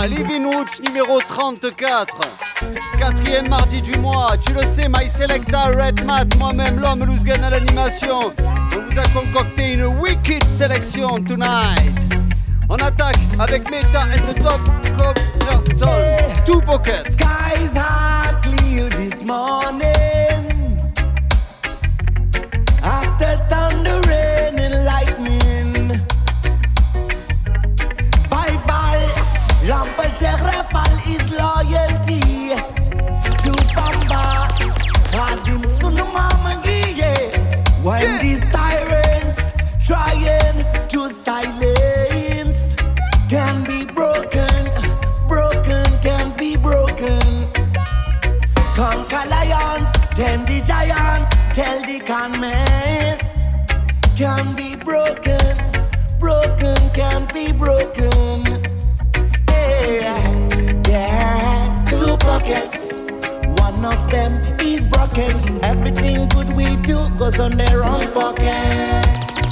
mois, Living Roots numéro 34. Quatrième mardi du mois, tu le sais, My Selecta, Red Mat, moi-même, l'homme Louzgan à l'animation. On vous a concocté une wicked sélection tonight. On attaque avec Meta and the Top Copterton, Two Pockets. Skies are clear this morning. After thunder, rain and lightning. By fall, Lampasher Rafal is loyalty. To Bamba, Radim Sunumamangiye. When these tyrants trying to silence can be broken, can be broken. Conquer lions, tame the giants, tell the con man. Can be broken, can be broken. Yeah. There's two pockets, one of them is broken. Everything good we do goes on their own pocket.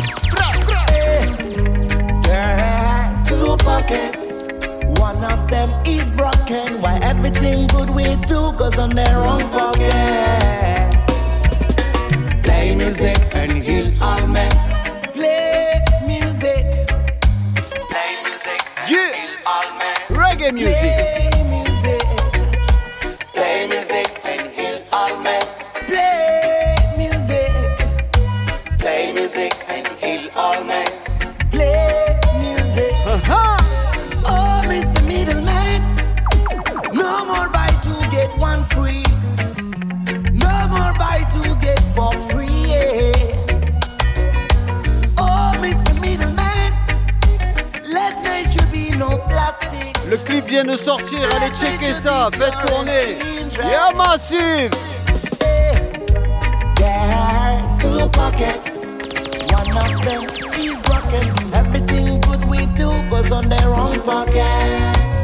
There's two pockets, one of them is broken. Why everything good we do goes on their own pocket. Play music and heal all men. Play music. Play music and heal all men. Reggae music. Play music. Play music and heal all men. Play music. Play music and heal all men. Play music. Oh, Mr. Middleman, no more buy two get one free. No more buy two get for free. Yeah. Oh, Mr. Middleman, let nature be no plastic. Le clip vient de sortir, allez checker ça, faites tourner. Yeah, massive. There's two pockets, one of them is broken. Everything good we do goes on their own pockets.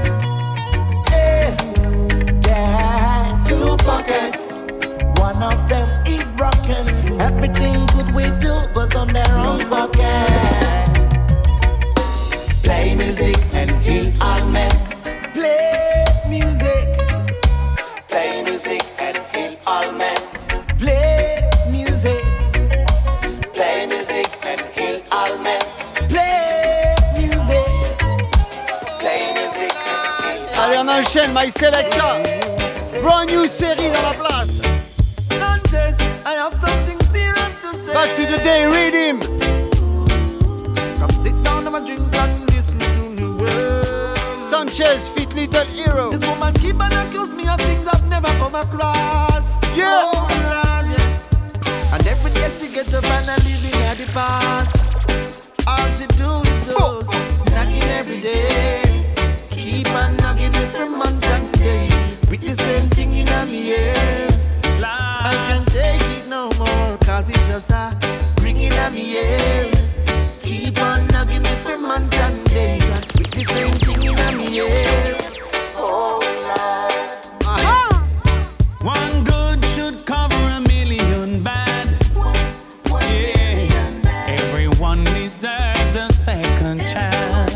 There's two pockets, one of them is broken. Everything good we do goes on their own pockets. Play music and heal all men. Play music. Play music and heal all men. Play music. Play music and heal all men. Play music. Play music and heal all men. Allez, on enchaîne, My Selecta. Brand new série dans la place. I have something serious to say. Back to the day, read him. Come sit down and drink and listen to the words. Sanchez, Fit Little Hero. This woman keep on accuse me of things I've never come across. Yeah. Oh, Lord, yeah. And every day she get up and I living at the past. All she do is just knocking every day. Keep on knocking every month and day. With the same thing in my ears. I can't take it no more, cause it's just a ringing at me ears. Keep on knocking every month and day. With the same thing in my ears. Oh, Lord. One good should cover a million bad. Yeah. Everyone deserves a second chance.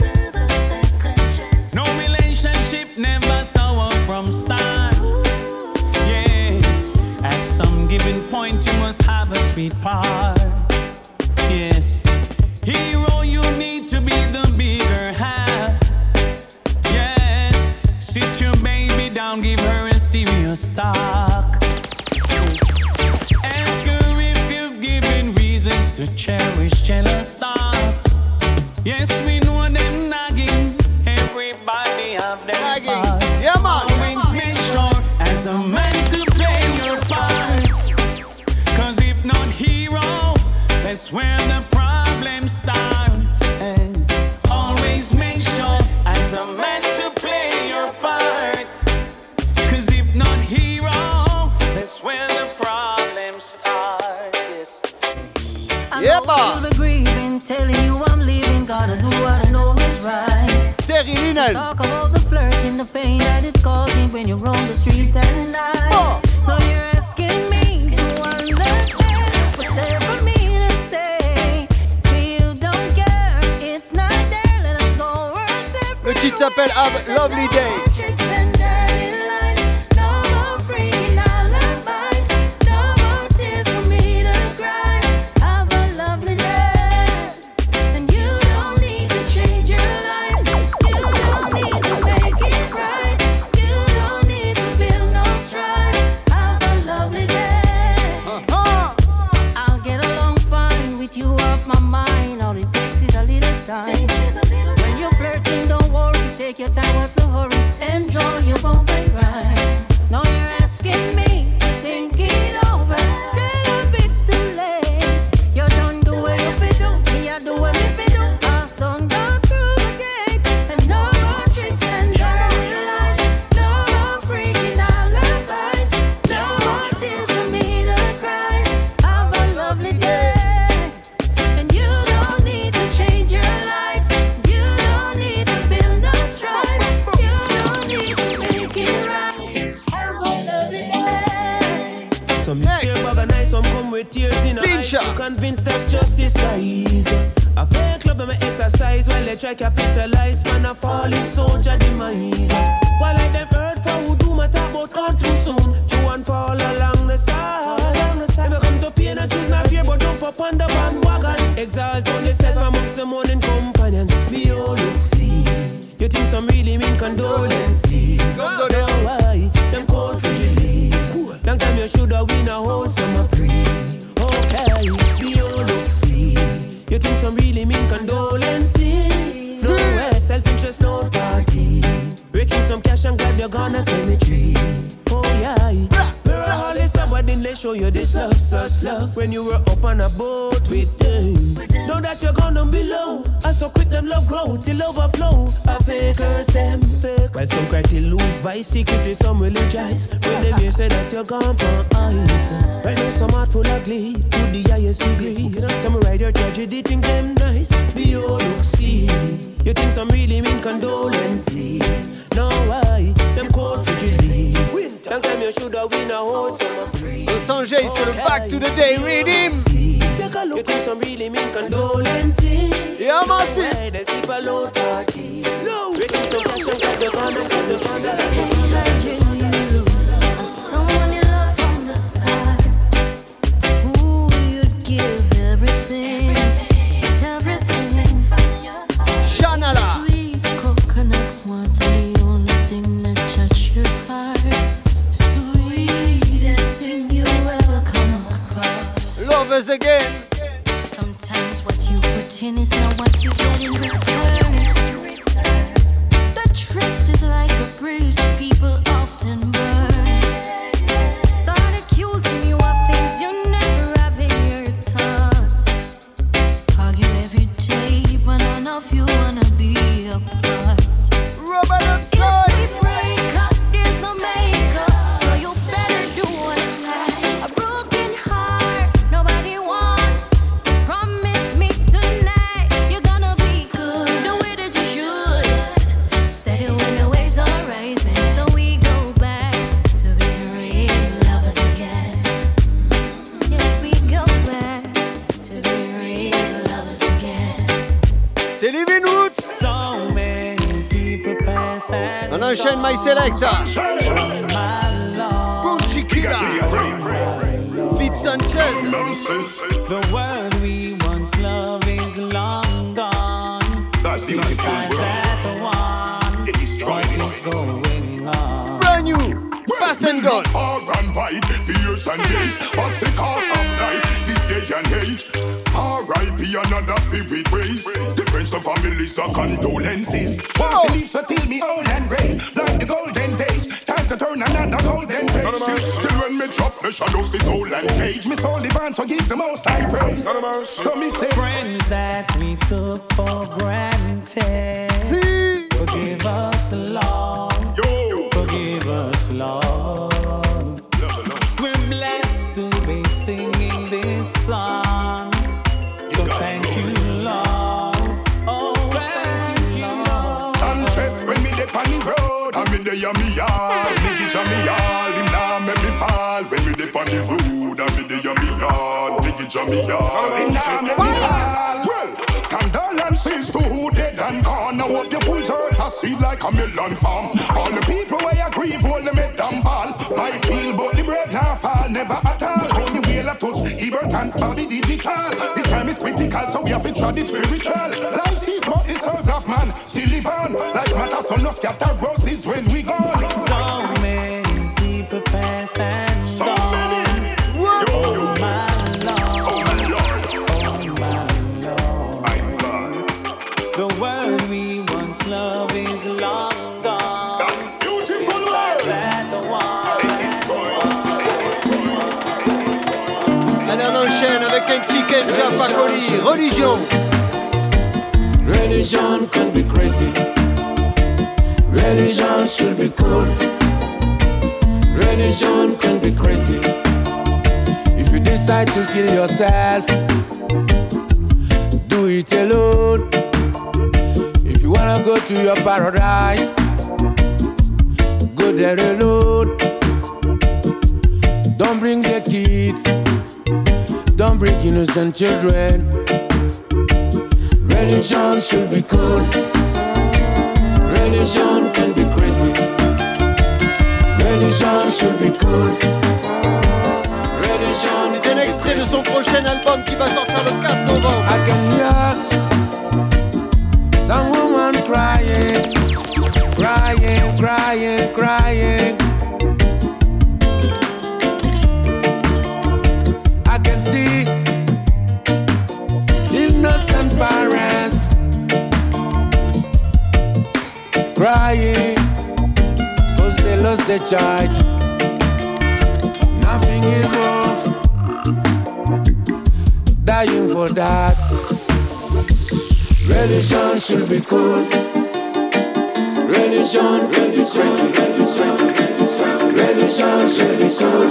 No relationship never sour from start. Yeah. At some given point you must have a sweet part. Yes. Hero, you need to be the bigger half. Yes. Sit your baby down, give her a serious talk. Ask her if you've given reasons to cherish jealous thoughts. Yes, we know them nagging. Everybody have them Nagging. faults. Yeah, man. Always make sure as a man to play your part. Cause if not hero, that's where the problem starts. And always make sure as a man to play your part. Cause if not hero, that's where the problem starts. Yes. Yeah, man. You're grieving, telling you I'm leaving. Gotta do what I know is right. Terry Linen. Talk about the flirting, the pain that it's causing when you're on the streets at night. Oh. Now you're asking me to understand what's there for me to say. Still don't care, it's not there. Let us go our separate titre s'appelle Have a Lovely Day. When you're flirting, don't worry, take your time, what's the hurry? Enjoy your bump and grind. Now you're asking me, think it over. Straight up, it's too late. You don't do what you fi do, me I do what me fi do. Us don't go through the gate, and no more tricks and dirty lies. No more freaking alibis. No more tears for me to cry. Have a lovely day, and you don't need to change your life. You don't need to build no strife. You don't need to make it right. Have a lovely day. Some tear bag and nice, some come with tears in the eyes. Pincha. I'm convinced that's just disguise. A fake love them exercise while they try capitalize. Man a falling soldier demise. While like them earth for who do my talk about gone too soon. Chew and fall along the side. Never come to pain and choose not fear but jump up on the bandwagon. Exalt on yourself amongst the morning companions. Me all look see. You think some really mean condolences. Don't know why them cold frigidly. Long time you shoulda win a whole summer free. Okay, be all look see. You think some really mean condolences. No way, self-interest, no party. Breaking some cash and glad you're gonna cemetery. Oh yeah, we're all this time, but then they show you this love, such love. When you were up on a boat with them. Know that you're gonna be low. And so quick them love grow till overflow. A fakers them fake. While some cry to lose vice, secretly some religious. When them here say that you're gone for ice. Right now some heart full of glee, to the highest degree. Some ride your tragedy, think them nice. Be all look see. You think some really mean condolences. No why, them cold frigidly. Long time you shoulda win a whole summer breeze. Los Angeles for the Back to the Day Rhythm. Take a look, you think some really mean condolences. Yeah, massive. Why they keep a low party. Breaking some cash and got the corners and the corners. Imagine you of someone you love from the start, who you'd give everything, everything. Shanala. Sweet coconut water, the only thing that touch your heart. Sweetest thing you ever come across. Lovers again. Sometimes what you put in is not what you get in return. The trust is like a bridge people often burn. Start accusing you of things you never have in your thoughts. Argue every day, but none of you wanna be apart. Robert If upside. we break up, there's no makeup, so you better do what's right. A broken heart, nobody wants, so promise me tonight you're gonna be good, the way that you should. Steady when the waves are rising, so we go back to being real lovers again. Yes, we go back to being real lovers again. C'est Living Roots. So many people pass and On enchaîne My Selecta. my love. Boom Chiquila. Fit Sanchez. The world we once loved is long gone. Besides that one, what is going on? Brand new. Fast and gone. Far and wide, fierce and days. What's the cost of life? This day and age. R.I.P. another spirit race. Difference to families are condolences. Want to leave, so till me old and grey. Like the golden days. Time to turn another golden page. Still when me drop flesh, I lose the soul and cage. Me soul divine, so give the most high praise. So me say, Friends that we took for granted, forgive us, Lord. yo, Forgive us, Lord. We're blessed to be singing this song. So thank you, Lord. Oh, thank you, Lord. Sanchez, when me dip on the road, I'm in the yummy yard. Me get yummy yard, him now make me fall. When me dip on the road, I'm in the yummy yard. Me get yummy yard, him now make me fall. Well, condolences to who dead dead and gone. Now what you full dirt a seed like a melon farm. All the people where you grieve, all them head and ball. Might kill but the brave now fall, never at all. Only wheel a touch, Ebert and body digital. This time is critical, so we have to try it spiritual. Life is but the souls of man still live on. Like matter, so no scatter roses when we gone. So many people pass and So gone. many. Oh my Lord, Oh my Lord. oh my Lord. My God. The world we once loved is long gone. That's beautiful Since I world. tried to walk. It is Allez, on enchaîne avec un petit Kenja Fakoli. Religion. Religion can be crazy. Religion should be cool. Religion can be crazy. If you decide to kill yourself, do it alone. If you wanna go to your paradise, go there alone. Don't bring the kids, don't bring innocent children. Religion should be cool. Religion can be crazy. Religion should be cool. Religion C'est un extrait de son prochain album qui va sortir le 4 novembre. I can hear some woman crying, crying, crying, crying. I can see innocent parents crying 'cause they lost their child. Nothing is worth dying for that. Religion should be cool. Religion can be crazy. Religion should be cool.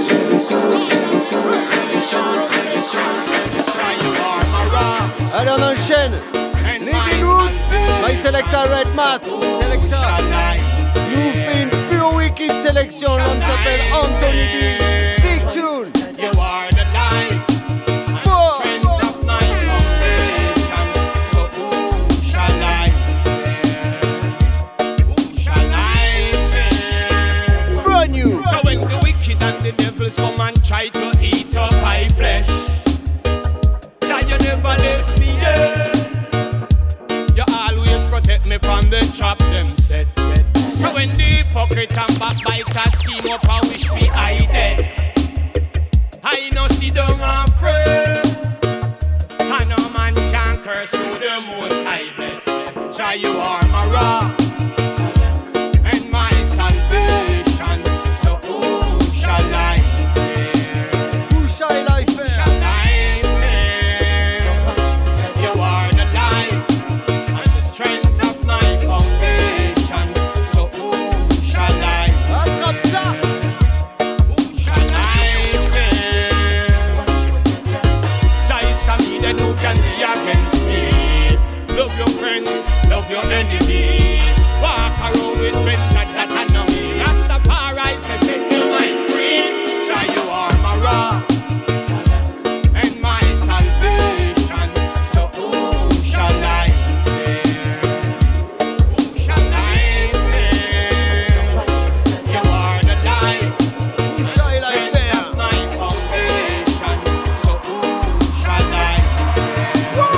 Allez, on enchaîne. Living Roots. My Selecta Red Mat. Selecta nous fait une pure wicked sélection. L'homme s'appelle Anthony B. Big tune. You are the light, Whoa. strength of my foundation. So who shall I fear? Who shall I fear? Brand new. So when the wicked and the devils come and try to eat up my flesh, Jah, you never left me there. You always protect me from the trap them set. So when the hypocrite and backbiters team up and wish me I dead, I no sit down afraid. And no man can curse you the most I bless. Jah, you are my rock and my salvation. So who shall I fear? Who shall I fear? Shall I fear? You are the light and the strength of my foundation. So who shall I Attrape ça. Who shall I fear? Jah is a me, then who can be against me? Love your friends, love your enemy. Walk around with friends that I know me. Rastafari says set your mind free. Jah, you are my rock and my salvation. So who shall I fear? Who shall I fear? You are the light, Who shall I strength fear? of my foundation. So who shall I fear?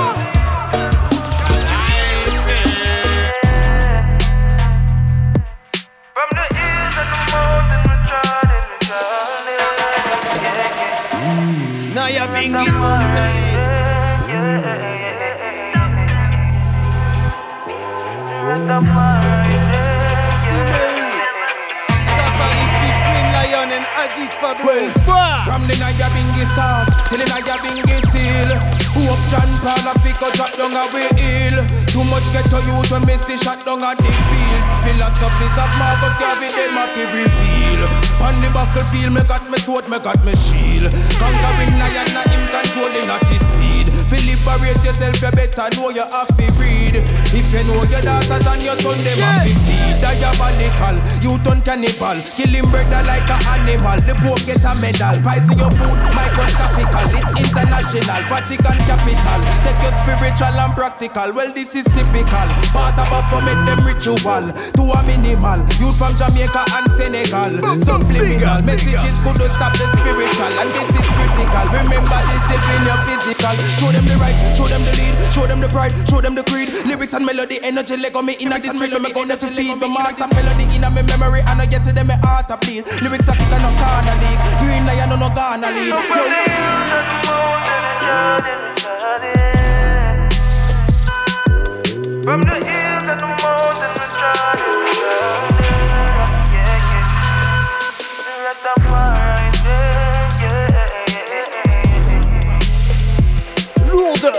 Shall I fear? From the hills and the mountain, we're trotting, Naya Bingy Mountain. Safari Fit, Green Lion and Addis Pablo. Well, from the Nyabingi start till the Nyabingi seal. Who up John Paul and pick up drop down a way hill. Too much get to you when me see shot down a the field. Philosophies of Marcus Garvey, them a fi reveal. On the battlefield, me got me sword, me got me shield. Conquering lion, not him controlling at his speed. Fi liberate yourself, you better know you have to read. If If you know your daughters and your son, them have to feed diabolical. You turn cannibal, killing brother like an animal. The poor get a medal. Pricing your food, microscopical. It international, Vatican capital. Take your spiritual and practical. Well, this is typical. Part about for make them ritual to a minimal. Youth from Jamaica and Senegal. Subliminal messages could stop the spiritual, and this is critical. Remember discipline your physical. Show them the right, show them the lead, show them the pride, show them the creed. Lyrics and melody, energy like on me in a this rhythm. Me gonna to feed me master melody in a me memory, and I guess it them me heart a bleed. Lyrics are quick and no corner league. Green lion no gonna lead. From the hills and the mountains we try. Lourde.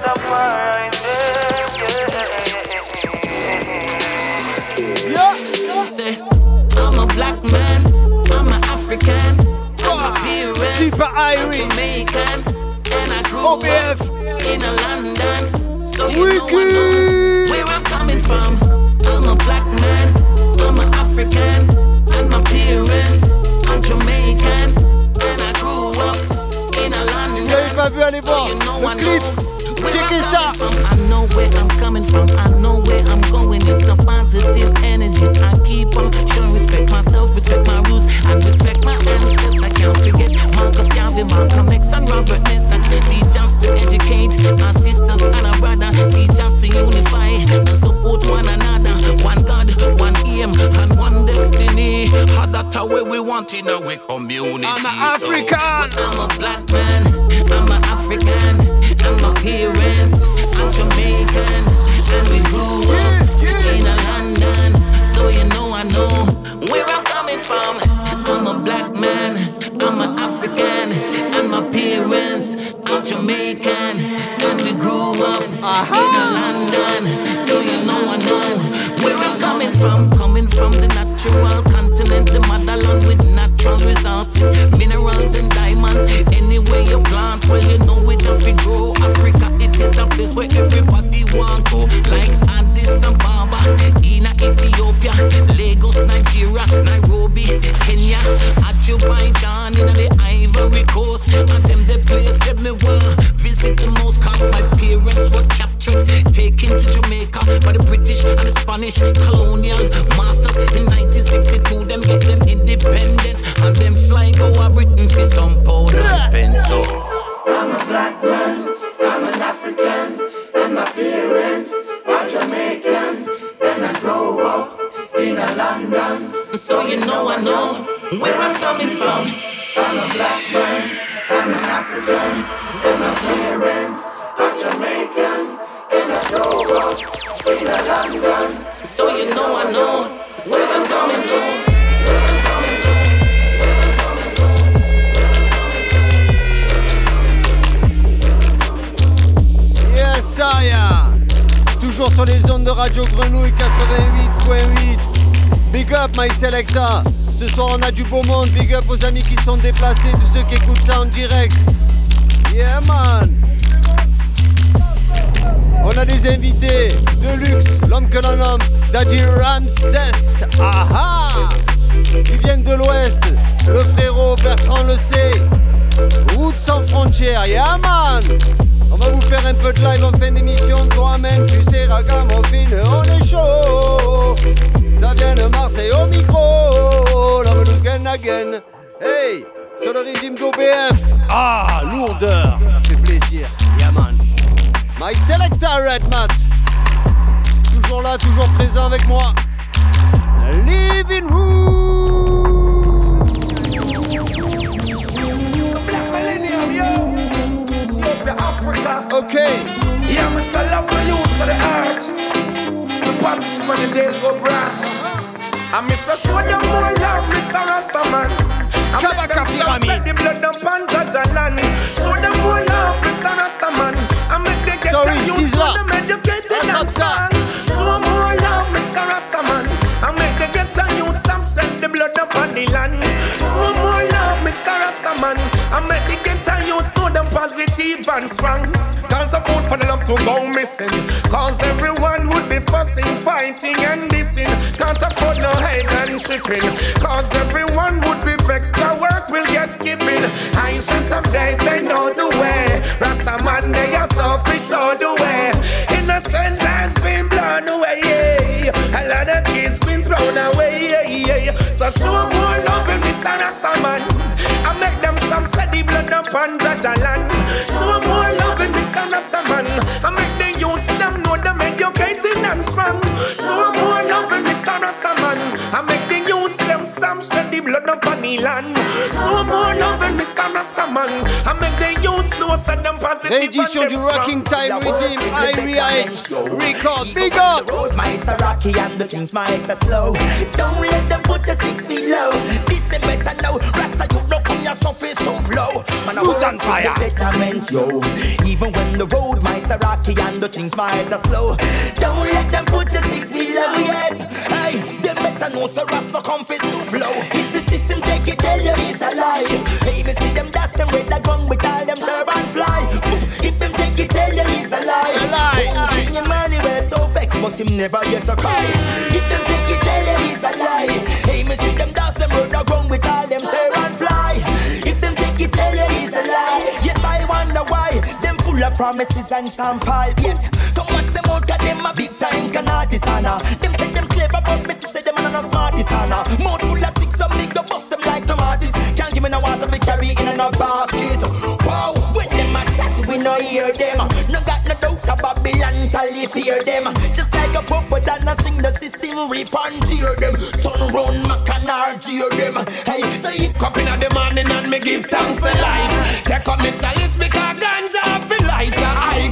Yeah. Say, I'm a black man, I'm an African, I'm a parents, I'm Jamaican, and I grew up in a London, so you know I know where I'm coming from. I'm a black man, I'm an African, and my parents, I'm Jamaican, and I grew up in a London, so you know I know. I know where I'm coming from, I know where I'm going. It's a positive energy. I keep on showing respect myself, respect my roots, and respect my ancestors. I can't forget Marcus Garvey, Malcolm X, and Robert Nesta. Teach us to educate our sisters and our brother. Teach us to unify and support one another. One God, one aim, and one destiny. How that's how we want in our community. I'm an African. So, I'm a black man, I'm an African. And my parents are Jamaican, and we grew up in a London, so you know I know where I'm coming from. I'm a black man, I'm an African, and my parents are Jamaican, and we grew up in a London, so you know I know where I'm coming from. Coming from the natural continent, the motherland with natural resources, minerals and diamonds. Anywhere you plant, well you know it have to grow. Africa, it is a place where everybody want go. Like Addis Ababa, in Ethiopia, Lagos, Nigeria, Nairobi, Kenya, Azerbaijan, in the Ivory Coast. And them the place that me want visit the most, cause my parents were captured, taken to Jamaica by the British and the Spanish colonial masters. In 1962, them get them independence, and them fly go a Britain for some pound and pence. So I'm a black man, I'm an African, and my parents are Jamaicans, and I grew up in a London, so you know I know where I'm coming from. I'm a black man, I'm an African, and my parents are Jamaican, and I grew up in a London, so you know I know where I'm coming from. Saya, toujours sur les ondes de Radio Grenouille 88.8. Big up My Selecta. Ce soir on a du beau monde. Big up aux amis qui sont déplacés, tous ceux qui écoutent ça en direct. Yeah man. On a des invités de luxe, l'homme que l'on nomme Daddy Ramses. Aha. Qui viennent de l'ouest. Le frérot Bertrand le sait. Route sans frontières. Yeah man. On va vous faire un peu de live en fin d'émission. Toi-même tu sais ragamuffin, on est chaud. Ça vient de Marseille au micro. L'homme nous gagne again. Hey, sur le régime d'OBF. Ah, lourdeur. Ça fait plaisir. Yeah man. My Selecta Red Mat. Toujours là, toujours présent avec moi. Living Room. Black Millennium, yo. Africa. Okay. Yeah, I'm a love for you for the art. The positive and the day go bright. I miss a show them more love, Mr. Rastaman. I make them stop set the blood up on Judge and land. Show them more love, Mr. Rastaman. I make them get a youth for them educated and song. Show more love, Mr. Rastaman. I make them get a youth stop set the blood up on the land. Show more love, Mr. Rastaman. I make them get a youth know them positive and strong. Can't afford for the love to go missing, cause everyone would be be fussing, fighting and dissing. Can't afford no hate and tripping, cause everyone would be vexed. Our work will get skipping. Ancient of days, they know the way. Rasta man, they are selfish all the way. Innocent lives been blown away, yeah. A lot of kids been thrown away, yeah. So show more love in Mr. Rasta man. I make them stop, set the blood up on Jaja land. Show more love in Mr. Rasta man. I make the youths them know them educated and strong. Show more love in Mr. Rasta man. I make the youths them stamp, set the blood up on the land. Show more love in Mr. Rasta man. I make the youths know set them positive. Réédition du Rocking Time Rhythm, IRIH Record, big up! The road might a rocky and the things might a slow. Don't let them put you 6 feet low. This them better now. Rasta you no come your surface too low. Man I Put on fire. Betterment yo. Even when the road might a rocky and the things might a slow. Don't let them put you 6 feet low. Yes. Hey, them better know so Rasta come face too low. If the system take it, tell you it's a lie. Hey, me see them dash them with the gun with all them turban fly. If them take it, tell you it's a lie. A lie. King Emmanuel so vexed, but him never get a cry. If them take it, tell you it's a lie. Hey, me see them dash them with the gun with all them turban fly. If them take it, tell you it's a lie. Yes, I wonder why them full of promises and some pipe. Yes, come watch them out, got them a big time can artist, Anna. Them say them clever, but me say them are not smartest, Anna. Mouth full of chicks, some big, go bust them like tomatoes. Can't give me no water for carry in a basket. Wow, when them a chat, we no hear them. No got no doubt about Babylon till you fear them. Just like a puppet and a sing the system, rip and tear them. Turn round, mac and hear them. Hey, so if Cup in the morning and me give thanks a life. Take up me chalice because ganja feel lighter. High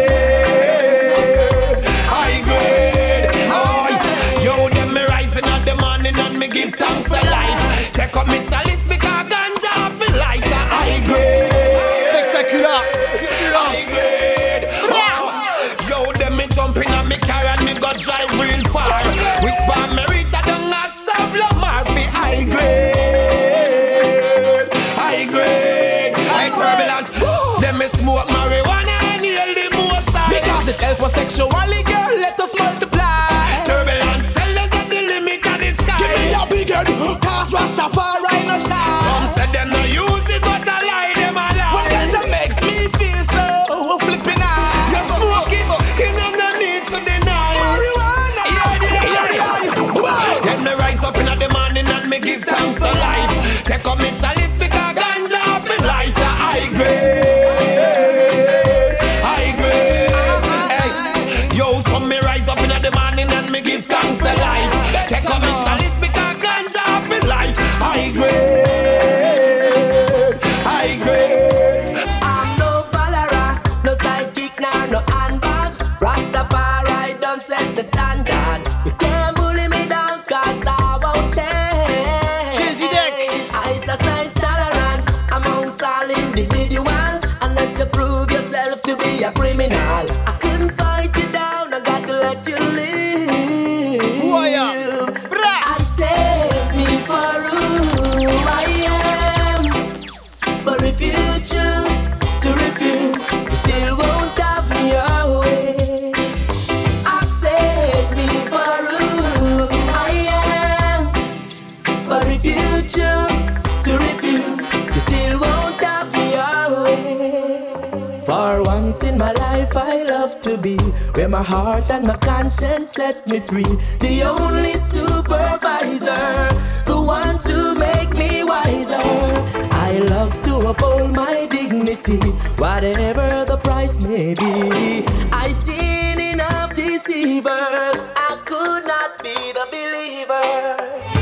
grade, high grade. Oh, yo, them me rising at the morning and me give thanks a life. Take up me chalice because ganja feel lighter. High grade, Spectaculaire. high grade. Oh, yo, them me jumping on me car and me go drive real far. Whisper me reach a down a Savla Murphy. High grade. Turbulent. Them me smoke marijuana and yell the most side. Because it help us sexually, girl, let us multiply. Turbulence, tell them that the limit of the sky. Give me a big head, cause Rastafari no shine. Some say them no use it, but I lie, them a lie. One ganja makes me feel so flipping out. You smoke it, you know no need to deny. Marijuana, yeah. Then me rise up in the morning and me give thanks to life. Take up me chalice because ganja feel lighter. High grade, high grade. Hey, yo, so me rise up in the morning and me give thanks to life. Take up me chalice because ganja feel light. High grade, high grade. I'm no follower, no sidekick, nah, no handbag. Rastafari don't set the standard. You can't bully me down, cause I won't change. I exercise tolerance amongst all individuals. Unless you prove yourself to be a criminal, I couldn't fight you down, I got to let you live. Who I am? I set me for who I am. But if you choose to refuse, you still won't have me away. I've set me for who I am. But if you choose to refuse, you still won't have me away. For once in my life I love to be where my heart and my conscience set me free. The only supervisor, the one to make me wiser. I love to uphold my dignity, whatever the price may be. I've seen enough deceivers, I could not be the believer.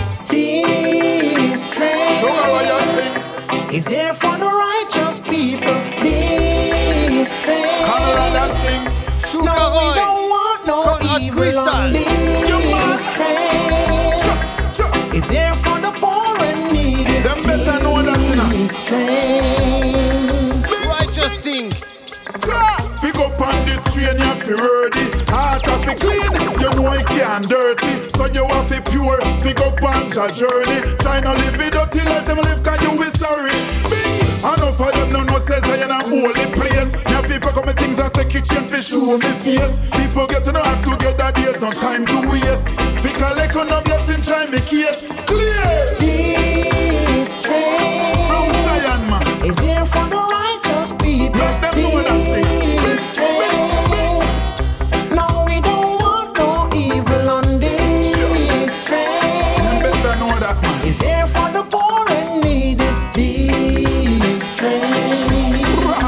This train is here for the righteous people. This train, no, we don't want no evil on this train. Is here for the poor and needy. Them better know that this train. Righteous thing. Pick up on this train, you have to ready. Heart of it clean, you know it can't dirty. So you have to pure, pick up on your journey. Try not live it dirty, let them live, cause you be sorry. Bing! Enough of them no says I in a holy place. Now people come with things that take kitchen for show me face. People get to know how together nowadays, no time to waste. Fi collect on a blessing, try me case clear. This train from Zion, man, is here for the righteous people. Let them know what I'm saying. This train, no, we don't want no evil on this train. You better know that, man. Is here for the poor and needy. This train.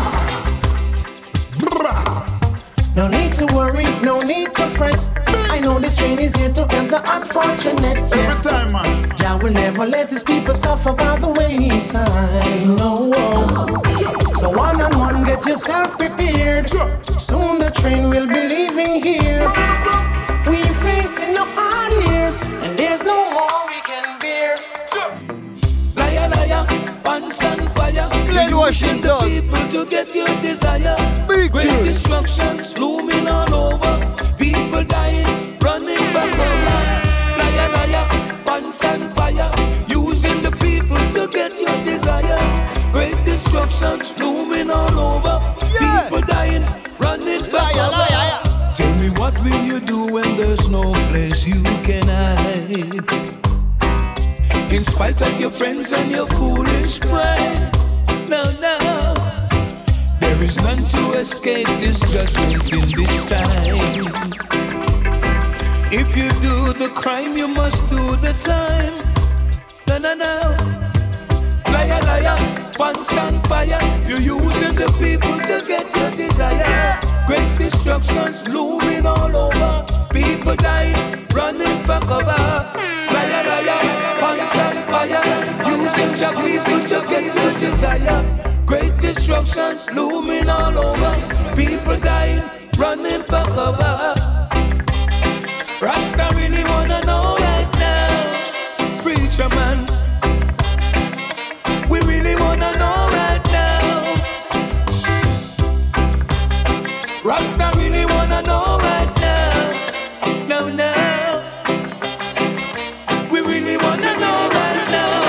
No need to worry, no need to fret. I know this train is here to help the unfortunate. Yes. Every time, man. Jah will never let his people suffer by the wayside. No. So one on one, get yourself prepared. Soon the train will be leaving here. We face enough hard years, and there's no more we can bear. Liar, liar, pants and fire. Glenn Washington. The people to get your desire. Big Great tune. destructions looming all over. People dying, running for cover. Liar, liar, pants and fire. Using the people to get your desire. Great destructions looming all over. Yeah. People dying, running for Liar, cover. liar. Tell me, what will you do when there's no place you can hide? In spite of your friends and your foolish pride. No, no, there is none to escape this judgment in this time. If you do the crime, you must do the time. No, no, no. Liar, liar, pants and fire. You're using the people to get your desire. Great destructions looming all over. People dying, running for cover. Liar, liar, pants and fire. Using your people to get your desire. Great destructions looming all over. People dying, running for cover. Rasta really wanna know right now. Preacher man, we really wanna know right now. Rasta really wanna know right now. No, no. We really wanna know right now.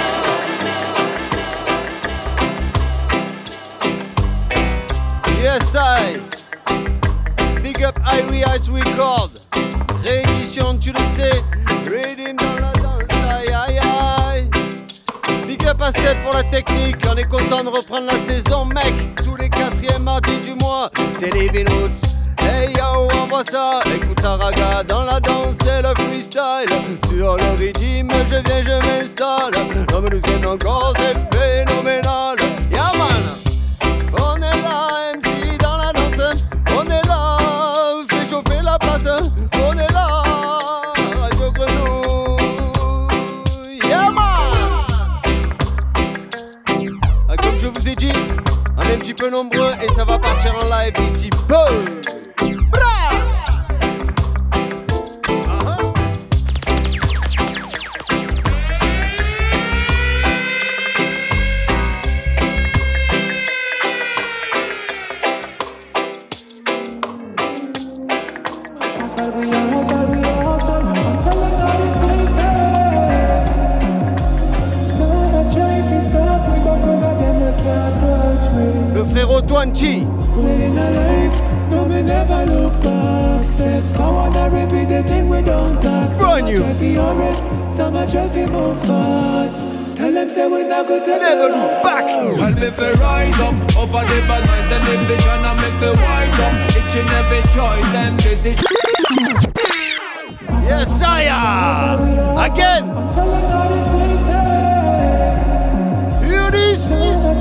Yes, I. Big up Irie Heights Record. Réédition, tu le sais. Reading dans la danse, aïe aïe aïe. Big up à Seb pour la technique. On est content de reprendre la saison, mec. Tous les 4e mardis du mois, c'est Living Roots. Hey yo, envoie ça. Écoute la raga dans la danse et le freestyle. Sur le rythme, je viens, je m'installe. Non mais nous sommes encore, c'est phénoménal. Yeah man. On est là, MC dans la danse. On est là, fait chauffer la place. On est là, Radio Grenouille. Yeah man. Ah, comme je vous ai dit, on est un petit peu nombreux et ça va partir en live ici peu. Le frérot Twanchi. Brand new. Never look back. And me fi rise up over the bad minds and the vision, and me fi wise up each and every choice and decision. Yes, sire. Again. Hear this.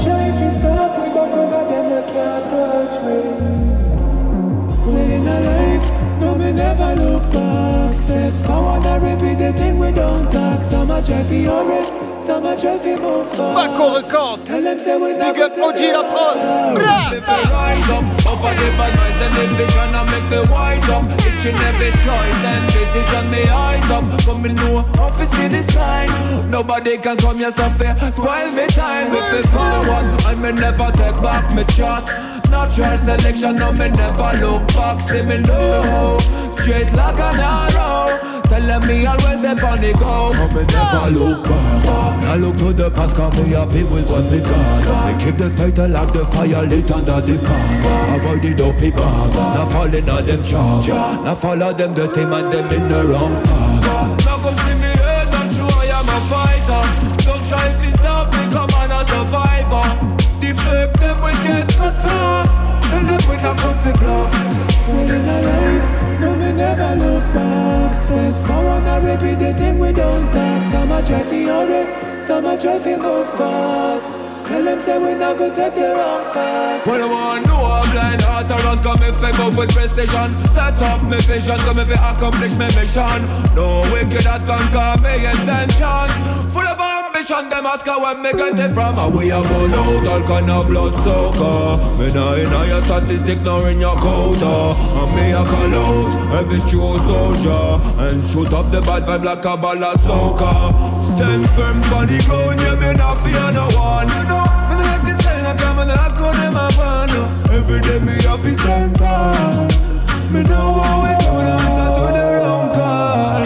No, me never look back. Step forward and repeat the thing we don't talk. Some a try fi hurry, some a try fi move fast. Paco Record. Tell them say we Big up OG La Prod. Me fi rise up over the bad minds and the vision, and me fi wise up each and every choice and decision. Me eyes up, come me know how fi see the sign. Nobody can come here so fair, spoil me time. Me fi forward and me never take back me chat. Natural selection, no me never look back. See me low, straight like an arrow. Telling me always step on the go. And me never look back. I look to the past, cause me happy with what me got. Me keep the faith and like the fire lit under the pan. Avoid the dopey bag, not falling on them charm. Not follow them dirty man, them in the wrong path. Now come see me head, not sure I am a fighter. Don't try if you stop me, come on a survivor. The fake them will get cut fast. And them will not come to blow. When in a life, no me never look back. Step forward and repeat the thing we don't talk. Some a try fi hurry, some a try fi move fast. Tell them say we not go take the wrong path. When I want to know I'm blind heart around, come if I move with precision. Set up my vision, come if I accomplish my mission. No wicked that can call me intentions. Full of ambition, them ask how when me get it from. And we have gone out, all kind of blood soaker. Me nah in your statistic, nor in your quota. And me a call out every true soldier. And shoot up the bad vibe like a ball of soccer. Stand firm for the ground, yeah me not fear no one. Me no like this thing, I come and I call them a van. Every day me have to stand tall. Me know how we found answer to the wrong call.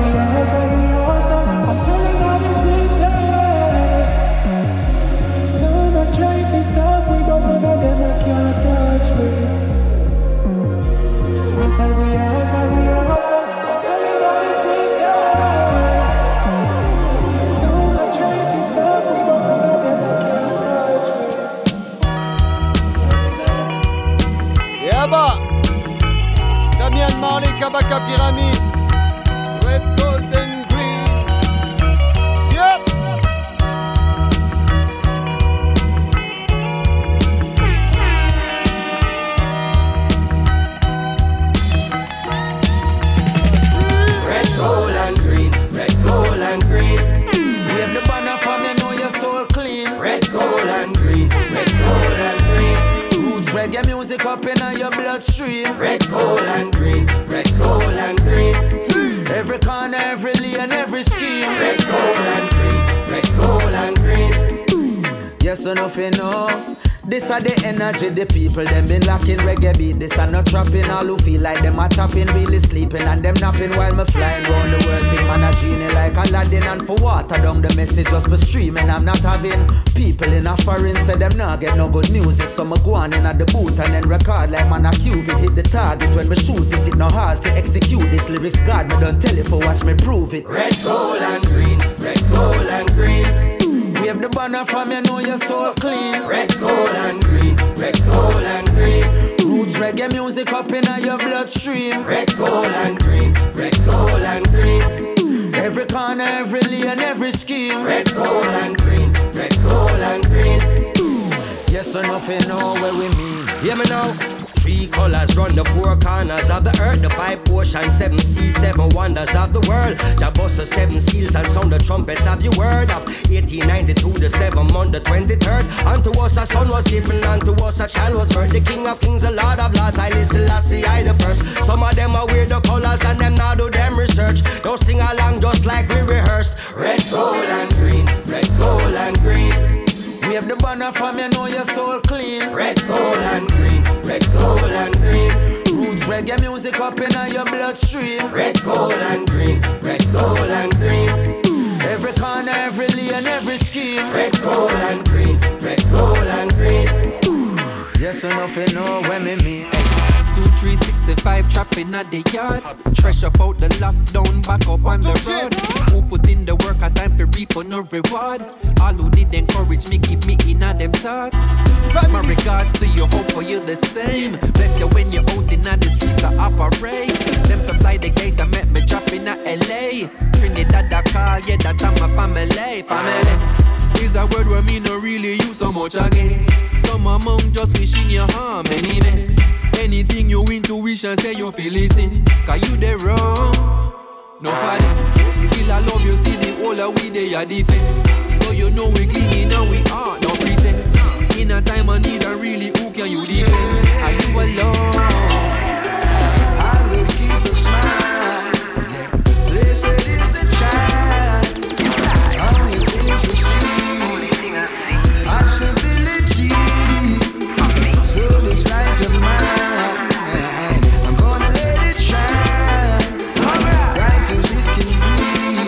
I'm selling all the city. So I'm not trying to stop me, but none of them I can't touch me. I'm selling all the city. So I'm not trying to stop me, but none of them I can't touch me. Yeah, bah! Damian Marley, Kabaka Pyramid, Red, Gold and Green. Yep! Red, gold and green, red, gold and green. Wave the banner from you know your soul clean. Red, gold and green, red, gold and green. Roots reggae music up in your bloodstream. Red, gold and green, red, gold and green. Every corner, every lane, every scheme. Red, gold and green, red, gold and green. Yes or nothing, no. This are the energy, the people, them been locking reggae beat. This are not trapping, all who feel like them are tapping, really sleeping and them napping while me flying round the world. Think man a genie like Aladdin, and for water down the message just be streaming. I'm not having people in a foreign say them not get no good music, so me go on in at the booth and then record like man a Cupid. Hit the target when me shoot it, it no hard to execute this lyrics. God me don't tell it for watch me prove it. Red, gold and green, red, gold and green. Wave the banner from you know your soul clean. Red, gold and green, red, gold and green. Roots reggae music up in your bloodstream. Red, gold and green, red, gold and green. Every corner, every lane, every scheme. Red, gold and green, red, gold and green. Yes or nothing, know where we mean. Hear me now. 3 colors run the 4 corners of the earth, the 5 oceans, 7 seas, 7 wonders of the world. Jah bust the 7 seals and sound the trumpets of your word. Of 1892, the 7th month, the 23rd. Unto us a son was given, unto us a child was birthed. The King of Kings, the Lord of Lords, I listen, Lassie, I the first. Some of them are weird the colors and them now do them research. Don't sing along just like we rehearsed. Red, gold and green, red, gold and green. Wave the banner from you know your soul clean. Red, gold and green, red, gold and green. Roots reggae music up in your bloodstream. Red, gold and green, red, gold and green. Every corner, every lane, every scheme. Red, gold and green, red, gold and green. Yes or nothing, know when me mean. 2, 3, 65 trapping at the yard. Fresh up out the lockdown, back up on the road. Who put in the work, a time for reap on no reward. All who did encourage me, keep me in a them thoughts. My regards to you, hope for you the same. Bless you when you're out in the streets I operate. Them to fly the gate, I met me drop in LA. Trinidad, I call, yeah, that I'm a family. Family is a word where me no really use so much again. Some among just wishing you harm anyway. Anything you intuition say you feel listen. Cause you the wrong. No father. Still I love you, see the whole of we they are defend. So you know we clean and we are no pretend. In a time of need and really who can you depend? Are you alone? Always keep a smile. Blessed is the child. Only things we see. Possibility. So this light of mine, I'm gonna let it shine. Bright as it can be.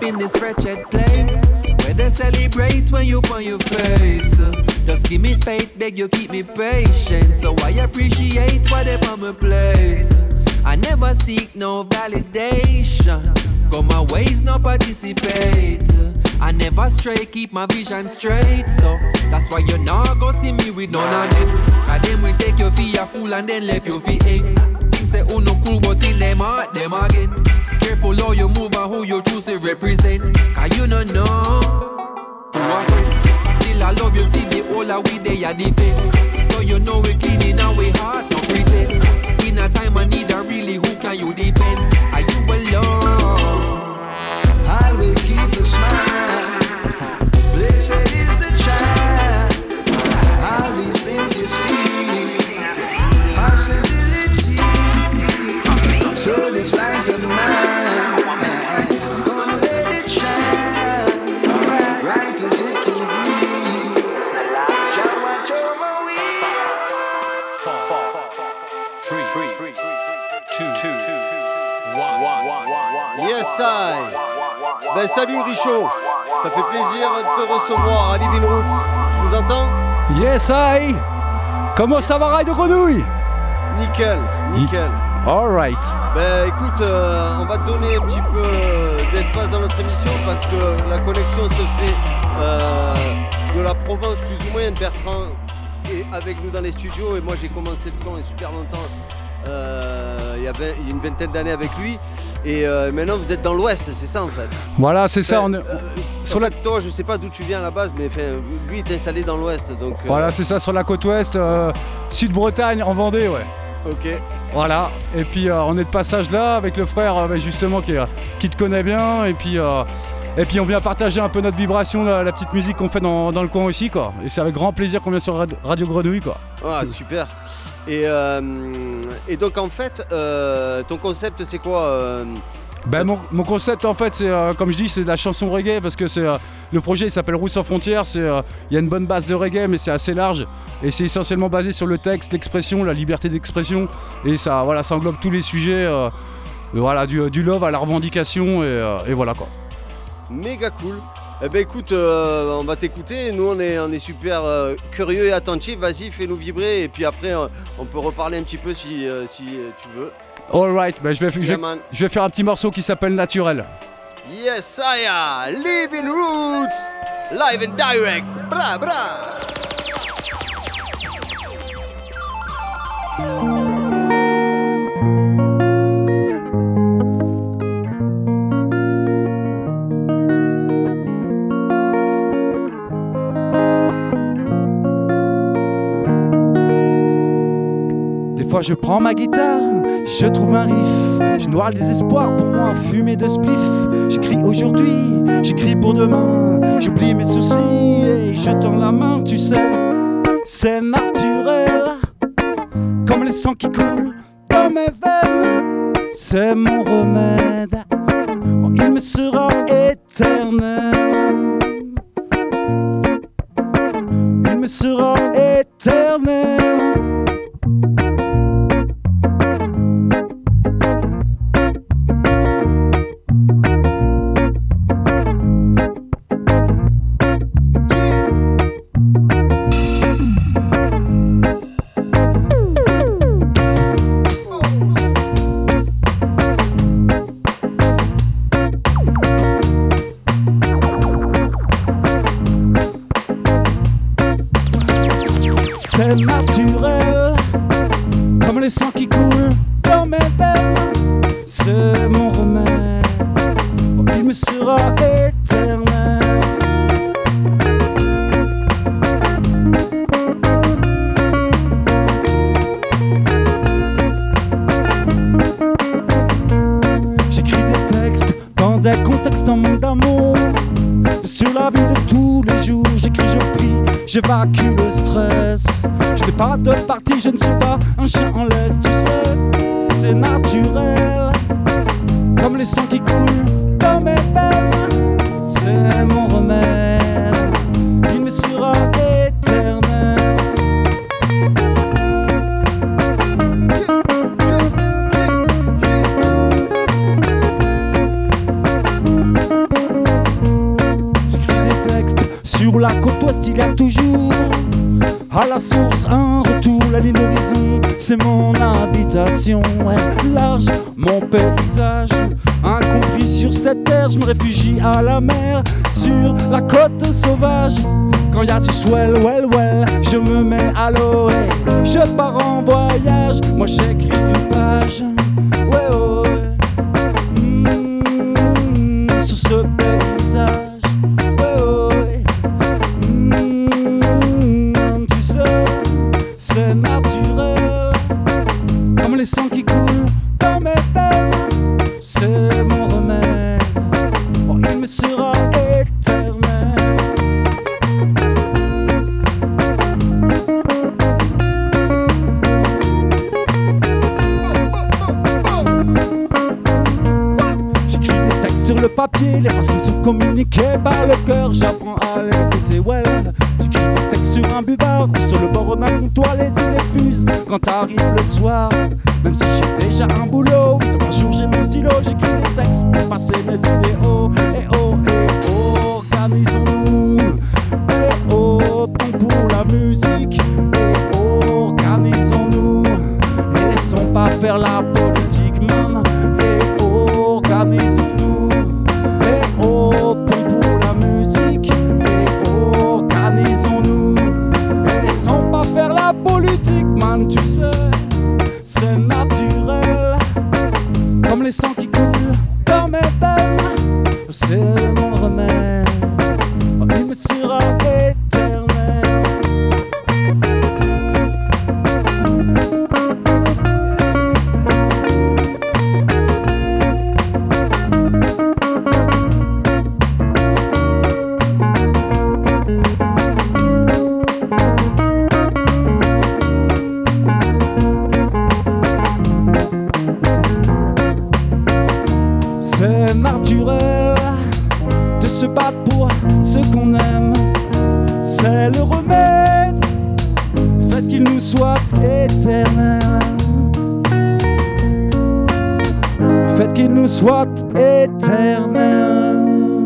in this wretched place where they celebrate when you on your face. Just give me faith, beg you keep me patient, so I appreciate what they on my plate. I never seek no validation, got my ways no participate. I never stray, keep my vision straight, so that's why you not go see me with none of them. Cause them will take you for a fool and then left you for ink. Things say who no cool but in them heart, them against. Careful how you move and who you choose to represent. Cause you don't know who are friend. Still I love you, see the whole of we they are defend. So you know we clean in our heart, no pretend. In a time I need a really, who can you depend? Are you alone? Always keep a smile. Blessed is the child. All these things you see, possibility. So this light of mine, I'm gonna let it shine, bright as it can be. Shall watch over we. 4, 3, 2, 1. Yes, I. Ben salut Richaud, ça fait plaisir de te recevoir à Living Roots. Tu nous entends? Yes, I. Comment ça va, Radio Grenouille? Nickel. Alright. Ben écoute, on va te donner un petit peu d'espace dans notre émission parce que la connexion se fait de la province plus ou moins. Bertrand est avec nous dans les studios et moi j'ai commencé le son il y a super longtemps, il y a une vingtaine d'années avec lui. Et maintenant vous êtes dans l'ouest, c'est ça en fait. Voilà, c'est ça. Sur la... Toi, je sais pas d'où tu viens à la base, mais lui il est installé dans l'ouest. Donc, Voilà, c'est ça, sur la côte ouest, Sud-Bretagne, en Vendée, ouais. Ok. Voilà, et puis on est de passage là avec le frère justement qui te connaît bien. Et puis on vient partager un peu notre vibration, la petite musique qu'on fait dans le coin aussi, quoi. Et c'est avec grand plaisir qu'on vient sur Radio Grenouille, quoi. Ah, super. Et donc en fait, ton concept c'est quoi mon concept en fait c'est comme je dis, c'est de la chanson reggae parce que c'est le projet il s'appelle Routes sans frontières. Il y a une bonne base de reggae mais c'est assez large et c'est essentiellement basé sur le texte, l'expression, la liberté d'expression et ça englobe tous les sujets du love à la revendication et voilà quoi. Méga cool. Eh ben écoute, on va t'écouter, nous on est super curieux et attentifs, vas-y fais-nous vibrer et puis après on peut reparler un petit peu si tu veux. Alright, je vais faire un petit morceau qui s'appelle Naturel. Yes I am, Living Roots, live and direct, bra bra. Des fois je prends ma guitare, je trouve un riff, je noie le désespoir pour moi fumer de spliff. J'écris aujourd'hui, j'écris pour demain, j'oublie mes soucis et je tends la main, tu sais. C'est naturel, comme le sang qui coule dans mes veines. C'est mon remède, il me sera éternel. Il me sera éternel. C'est naturel, comme les sangs qui coulent dans mes veines. C'est mon remède, il me sera éternel. J'écris des textes dans des contextes en manque d'amour. Sur la vie de tous les jours, j'écris, je prie, j'évacue le stress. Je n'ai pas de parti, je ne suis pas un chien en laisse, tu sais. C'est naturel, comme les sangs qui coulent dans mes veines. C'est mon remède, il me sera éternel. la source, un retour, la ligne d'horizon, c'est mon habitation. Ouais, large, mon paysage, incompris sur cette terre, je me réfugie à la mer, sur la côte sauvage. Quand y a du swell, well, je me mets à l'eau et je pars en voyage. Moi j'écris une page, ouais, oh, ouais. Sur ce paysage, ouais, oh, ouais. Tu sais, c'est naturel, comme les sangs qui coulent dans mes veines. C'est mon remède, oh, il me sera éternel. Sur le papier, les phrases me sont communiquées par le cœur. J'apprends à l'écouter, well. J'écris des textes sur un buvard ou sur le bord d'un comptoir, les idées fusent quand arrive le soir. Même si j'ai déjà un boulot, un jour j'ai mon stylo, j'écris des textes pour passer mes idéaux. Et oh, organisons-nous. Et oh, ton pour la musique. Et oh, organisons-nous. Et laissons pas faire la politique, man. Et oh, organisons-nous. Tu sais, c'est naturel, comme les sangs qui coulent dans mes veines. C'est mon remède, il me sera éternel. C'est naturel de se battre pour ce qu'on aime. C'est le remède, faites qu'il nous soit éternel. Faites qu'il nous soit éternel.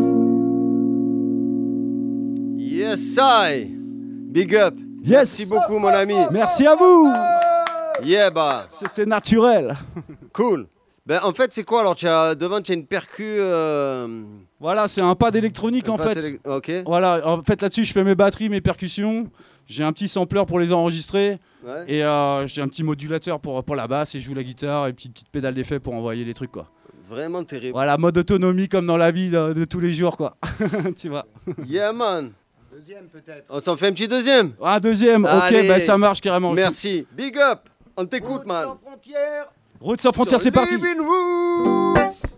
Yes, I. Big up. Yes. Merci beaucoup, mon ami. Merci à vous. Yeah, bah. C'était naturel. Cool. Ben, en fait, c'est quoi alors? Devant, tu as une percu. Voilà, c'est un pad électronique en fait. Ok. Voilà, en fait là-dessus, je fais mes batteries, mes percussions. J'ai un petit sampler pour les enregistrer. Ouais. Et j'ai un petit modulateur pour la basse et je joue la guitare et petite pédale d'effet pour envoyer les trucs, quoi. Vraiment terrible. Voilà, mode autonomie comme dans la vie de tous les jours, quoi. Tu vois. Yeah, man. Deuxième peut-être. On s'en fait un petit deuxième. Un deuxième, allez. Ok, ben ça marche carrément. Merci. Big up. On t'écoute, man. Sans frontières. Route sans frontières, c'est parti. Living Roots.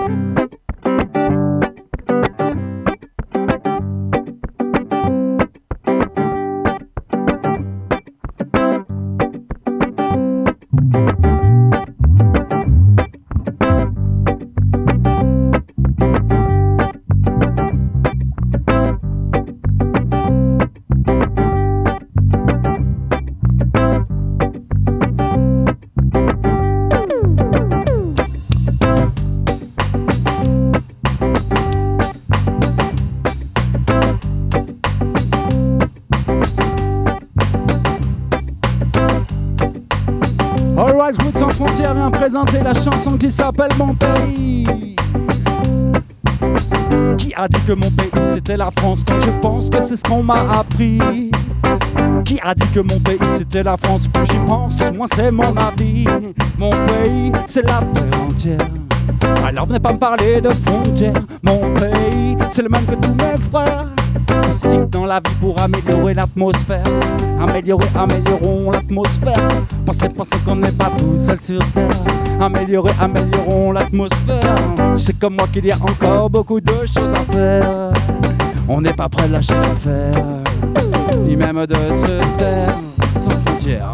Alright, Route sans frontières vient présenter la chanson qui s'appelle Mon pays. Qui a dit que mon pays c'était la France quand je pense que c'est ce qu'on m'a appris? Qui a dit que mon pays c'était la France? Plus j'y pense, moins c'est mon avis. Mon pays c'est la terre entière. Alors venez pas me parler de frontières. Mon pays c'est le même que tous mes frères. Stick dans la vie pour améliorer l'atmosphère. Améliorons l'atmosphère. Pensez qu'on n'est pas tout seul sur terre. Améliorons l'atmosphère. Tu sais comme moi qu'il y a encore beaucoup de choses à faire. On n'est pas prêt de lâcher l'affaire, ni même de se taire. Sans frontières.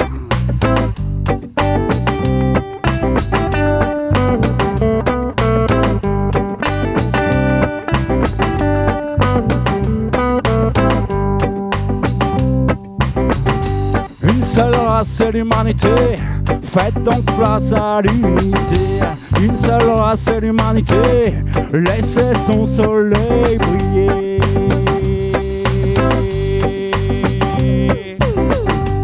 Seule race, c'est l'humanité. Faites donc place à l'unité. Une seule race, c'est l'humanité. Laissez son soleil briller.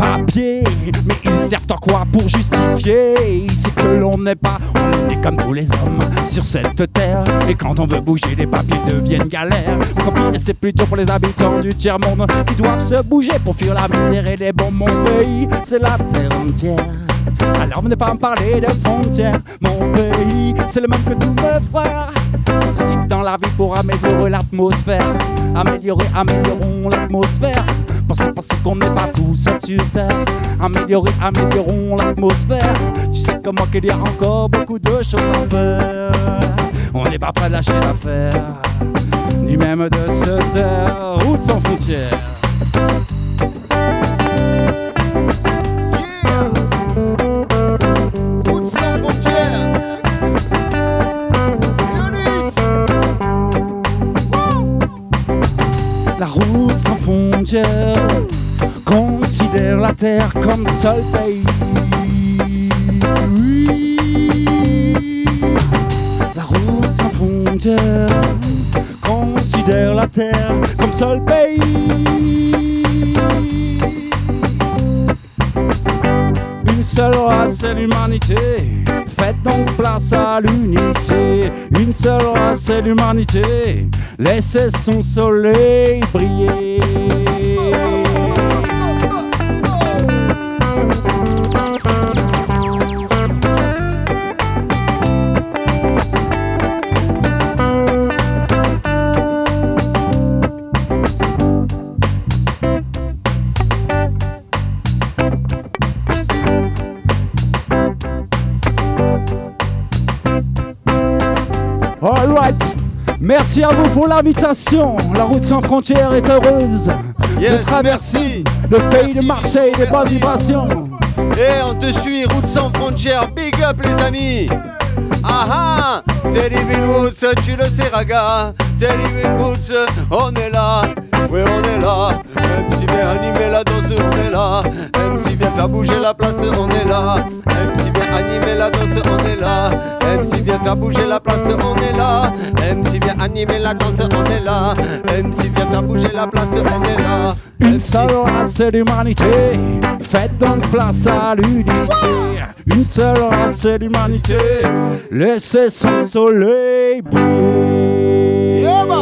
papiers, mais ils servent en quoi pour justifier? C'est que l'on n'est pas, on est comme tous les hommes sur cette terre. Et quand on veut bouger, les papiers deviennent galères. Encore pire, c'est plutôt pour les habitants du tiers-monde qui doivent se bouger pour fuir la misère et les bombes. Mon pays, c'est la terre entière. Alors venez pas me parler de frontières. Mon pays, c'est le même que tous mes frères. C'est type dans la vie pour améliorer l'atmosphère. Améliorons l'atmosphère. Pensez qu'on n'est pas tous seuls sur terre. Améliorons l'atmosphère. Tu sais comment qu'il y a encore beaucoup de choses à faire. On n'est pas prêt de lâcher l'affaire, ni même de se taire. Route sans frontières. La route sans frontières considère la terre comme seul pays. Oui. La route sans frontières considère la terre comme seul pays. Une seule race, c'est l'humanité. Faites donc place à l'unité. Une seule race, c'est l'humanité. Laissez son soleil briller. All right. Merci à vous pour l'invitation. La route sans frontières est heureuse de traverser le pays de Marseille, des bonnes vibrations. Et on te suit, route sans frontières, big up les amis. Ah ah, c'est Living Roots, tu le sais Raga. C'est Living Roots, on est là, oui on est là. MC vient animer la danse, on est là. MC vient faire bouger la place, on est là. MC vient animer la danse, on est là. MC vient faire bouger la place, on est là. MC vient animer la danse, on est là. MC vient faire bouger la place, on est là. Une seule race d'humanité, faites donc place à l'unité. Une seule race d'humanité, laissez son soleil briller.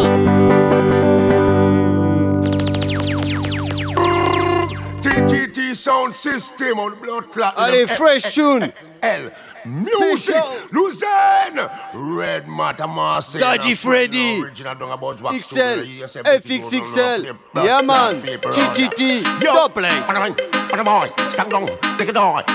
TTT Sound System on Blood Clot. Allez, fresh tune. L. Music, Lausanne, Red Matter Marseille, Daddy Freddy, XL, FXXL, yeah man, TTT, double. Stand down, take it on.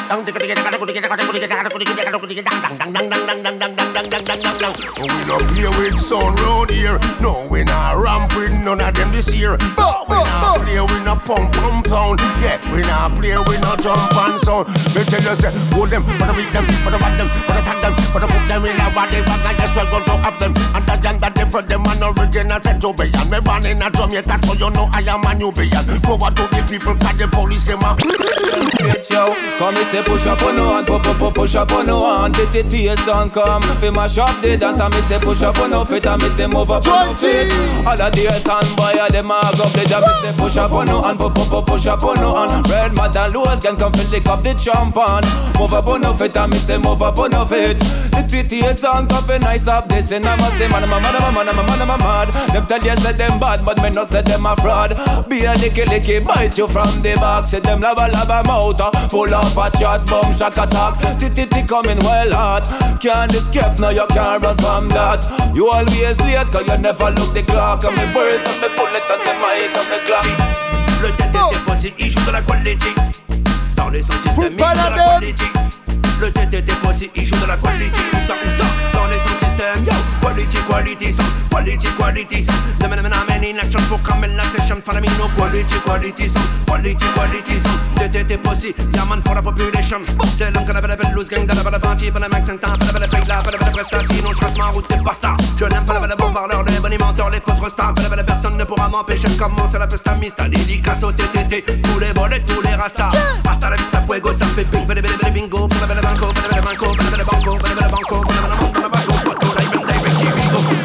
We don't play with sound round here. No, we not ramp with none of them this year. No, we not play with no pump pound. Yeah, we not play with no jump and sound. Me tell you say, hold them, but I beat them, but I want them, but I tag them, but I put them in a body bag and yes, we're going to have them. And the young that they put them on original set to be. And me born in a Jamaica, so you know I am a Nubian. Go out to the people, cause the police say my. Yo, come and say push up on no hand, push up on no hand. TTT song come, fi mash up the dance. And me say push up on no feet, and me say move up on no feet. All of the sound boy, them a go play jam. Me say push up on no hand, push up on no hand. Red Mad and Louis can come fi lick up the champagne. Move up on no feet, and me say move up on no feet. The TTT song come fi nice up this, and I must say man, I'm mad. Them tell you say them bad, but me no say them a fraud. Be a licky, bite you from the back. Say them lava mouth, full of a chat, bomb, shock attack. TTT coming well hard. Can't escape, now you can't run from that. You always late, cause you never look the clock. And me birds, and me bullet, and the mic, and me clock. Le TTT Posse, il joue de la quality. Dans les sound systems, il joue de la quality. Le TTT Posse, il joue de la quality. Où ça, dans les sound systems, yo. Quality sound, quality sound. The man in action for come in la session. Follow me, no quality sound, quality sound. TTT Posse, yeah man for la population. C'est l'homme qu'on avait la belle loose gang, de la belle party, pas la max and temps, pas la belle paye là, pas la belle prestation. Sinon je passe ma route, c'est basta. Je n'aime pas la belle bon parleur, les bonimenteurs, les fausses restats. Pas la belle personne ne pourra m'empêcher de commencer la pesta mista. Dédicace au TTT, tous les volets, tous les rastas. Hasta la vista, fuego, ça fait ping, belle bingo, pas la belle banco, pas la belle banco, pas la belle banco, pas la belle banco, pas la belle banco.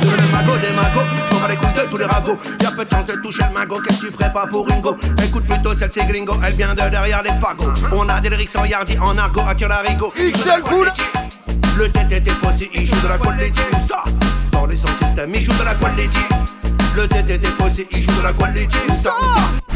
Des magots, je m'en bats les couilles de tous les ragots. Y'a peu de chance de toucher le magot, qu'est-ce que tu ferais pas pour Ringo? Écoute plutôt Gringo, celle c'est Gringo, elle vient de derrière les fagots. On a des lyrics en yardi, en argot, attire l'arigot. XL Cool. Le TTT Possi, il joue de la quality. Où ça? Dans les sound system, il joue de la quality. Le TTT Possi, il joue de la quality. Où ça? Où ça?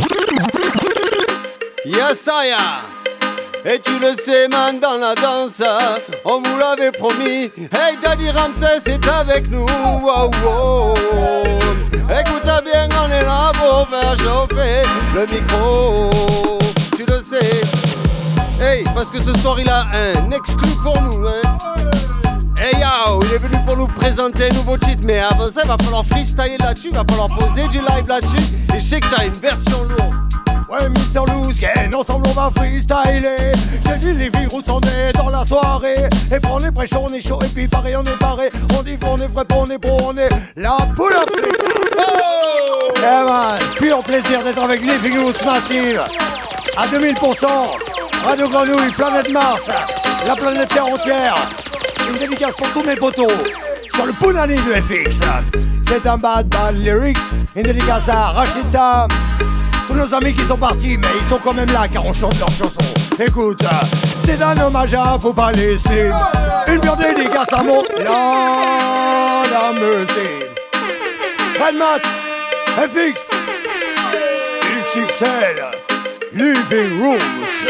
Yasaya. Et tu le sais, man, dans la danse, on vous l'avait promis. Hey, Daddy Ramsès est avec nous. Wow, wow. Écoute bien, on est là pour faire chauffer le micro. Tu le sais. Hey, parce que ce soir il a un exclu pour nous, hein. Hey yo, il est venu pour nous présenter un nouveau titre, mais avant ça il va falloir freestyler là-dessus, il va falloir poser du live là-dessus. Et je sais que t'as une version lourde. Ouais, Mr. Loosken, ensemble on va freestyler. J'ai dit les virus, on est dans la soirée. Et pour les prêches, on est chaud, et puis pareil, on est paré. On dit on est vrai, on est pro, on est la poule à oh eh man, pur plaisir d'être avec Living Roots Massive. À 2000%, Radio Grenouille, Planète Mars, la planète Terre entière. Une dédicace pour tous mes potos sur le Punani de FX. C'est un bad lyrics. Une dédicace à Rachida. Tous nos amis qui sont partis, mais ils sont quand même là car on chante leurs chansons. Écoute, c'est un hommage à faut pas laisser. Une pure dédicace à mon la musique. Redmat, FX, XXL, Living Roots,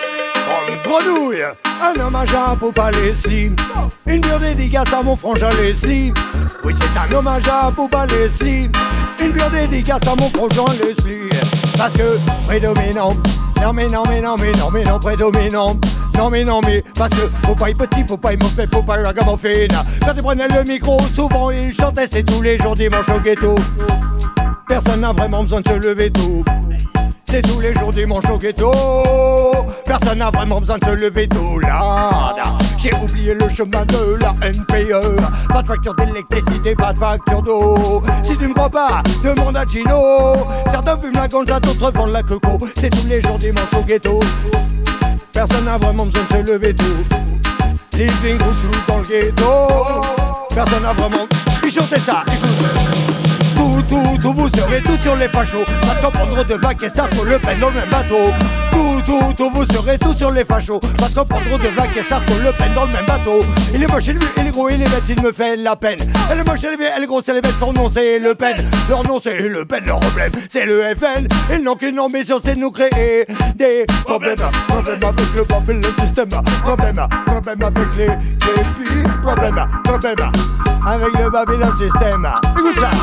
en grenouille. Un hommage à Poupa Leslie. Une pure dédicace à mon frangin Leslie. Oui, c'est un hommage à Poupa Leslie. Une pure dédicace à mon frangin Leslie. Parce que prédominant, non mais non mais non mais non mais non prédominant. Non mais non mais parce que Popeye petit, Popeye mauvais, Popeye ragamuffin. Quand il prenait le micro, souvent il chantait, c'est tous les jours dimanche au ghetto. Personne n'a vraiment besoin de se lever tôt. C'est tous les jours dimanche au ghetto. Personne n'a vraiment besoin de se lever tôt là. J'ai oublié le chemin de la NPE. Pas de facture d'électricité, pas de facture d'eau. Si tu me crois pas, demande à Chino. Certains fument la ganja, d'autres vendent la coco. C'est tous les jours dimanche au ghetto. Personne n'a vraiment besoin de se lever tôt. Living Roots dans le ghetto. Personne n'a vraiment... Puis chantez ça, écoute. Tout, vous serez tous sur les fachos. Parce qu'en prendre de vagues et Sarko Le Pen dans le même bateau. Tout, vous serez tous sur les fachos. Parce qu'en prendre de vagues et Sarko Le Pen dans le même bateau. Il est moche, il est gros, il est bête, il me fait la peine. Elle est moche, elle est vieux, elle est grosse, elle est bête, son nom c'est Le Pen. Leur nom c'est Le Pen, leur problème c'est le FN. Ils n'ont qu'une ambition, c'est de nous créer des problèmes. Problèmes avec le Babylon système. Problèmes avec les puis problèmes avec le Babylon système. Écoute ça.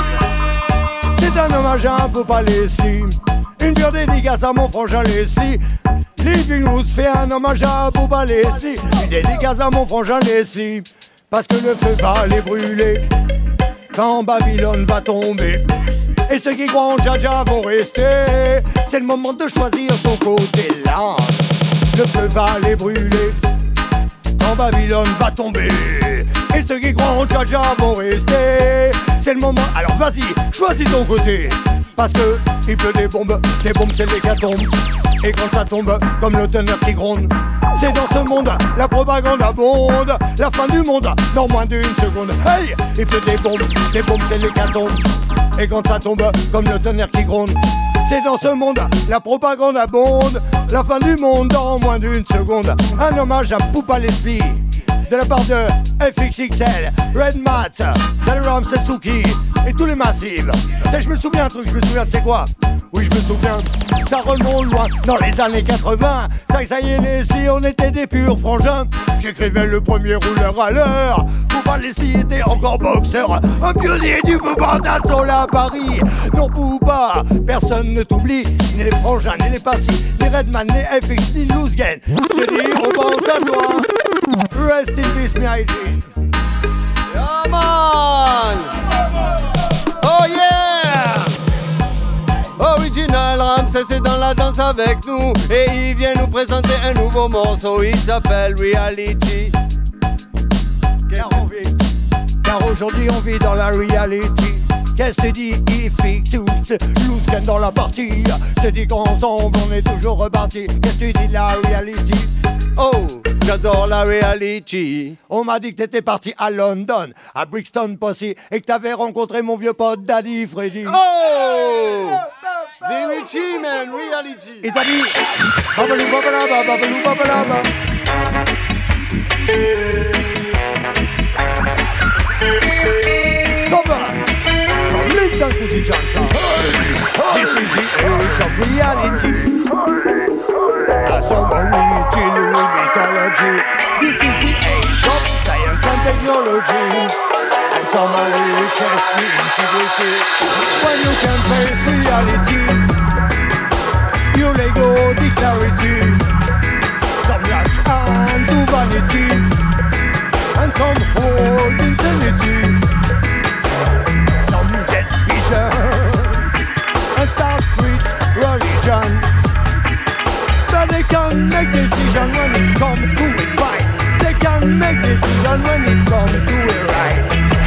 C'est un hommage à un Poupa Leslie. Une pure dédicace à mon frangin Leslie. Living Roots fait un hommage à Poupa Leslie. Une dédicace à mon frangin Leslie. Parce que le feu va les brûler quand Babylone va tomber. Et ceux qui croient en Jaja vont rester. C'est le moment de choisir son côté là. Le feu va les brûler quand Babylone va tomber. Et ceux qui croient en Jaja vont rester. C'est le moment, alors vas-y, choisis ton côté. Parce que il pleut des bombes c'est l'hécatombe. Et quand ça tombe, comme le tonnerre qui gronde. C'est dans ce monde, la propagande abonde. La fin du monde, dans moins d'une seconde. Hey, il pleut des bombes c'est l'hécatombe. Et quand ça tombe, comme le tonnerre qui gronde. C'est dans ce monde, la propagande abonde. La fin du monde, dans moins d'une seconde. Un hommage à Poupa Leslie. De la part de FXXL, Redmat, Dalaram Setsuki et tous les massifs. Je me souviens un truc, tu sais quoi? Oui, je me souviens, ça remonte loin, dans les années 80. Ça y est, Leslie, on était des purs frangins. J'écrivais le premier rouleur à l'heure. Poupa Leslie était encore boxeur. Un pionnier du mouvement dancehall à Paris. Non, Poupa, personne ne t'oublie. Ni les frangins, ni les passifs, ni Redman, ni FX, ni Loosgen. Je dis, on pense à toi. Rest in peace, me hygiene. Yeah, man! Oh yeah! Original Ramsès est dans la danse avec nous. Et il vient nous présenter un nouveau morceau. Il s'appelle Reality. Car aujourd'hui on vit dans la reality. Qu'est-ce que tu dis, FX ou Loosken dans la partie. Je dis qu'ensemble on est toujours reparti. Qu'est-ce que tu dis, la reality? Oh, quand j'adore la reality. On m'a dit que t'étais parti à London, à Brixton Posse, et que t'avais rencontré mon vieux pote Daddy Freddy. Oh! Reality, man, reality. Et t'as dit babalou babalaba, babalou babalaba. Cover from Linton Pussy Johnson. This is the age of reality. As some origin with mythology. This is the age of science and technology. And some sexy integrity. When you can face reality, you let go the clarity. Some latch on to vanity, and some hold insanity. Some get vision and start preach religion. But they can't make decision when it comes to a fight. They can't make decision when it comes to a right.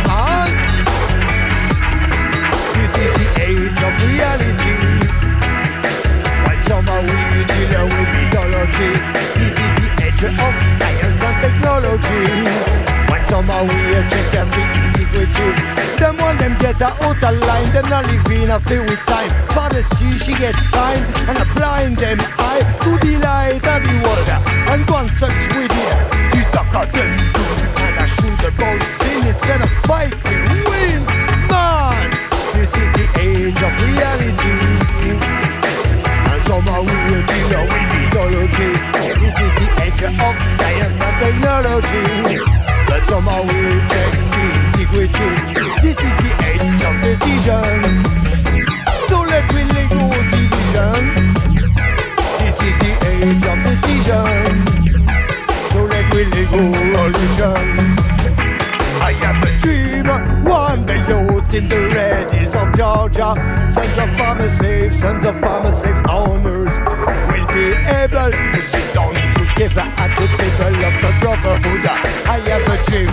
This is the age of reality. When somehow we deal with mythology. This is the age of science and technology. When somehow we check every integrity. Them want them get a out of line. Them not living a few with time. Father see she gets signed and a blind them eye to the light of the world. And one such with it, the talk of them and I shoot about sin instead of fight to win. Man, this is the age of reality. And somehow we will deal with mythology. This is the age of science and technology. But somehow we check the integrity. This is the age of decision. So let we let go division. This is the age of decision. So let we let go religion. I have a dream, one day out in the red hills of Georgia. Sons of farmer slaves owners will be able to sit down together at the table of the brotherhood. I have a dream,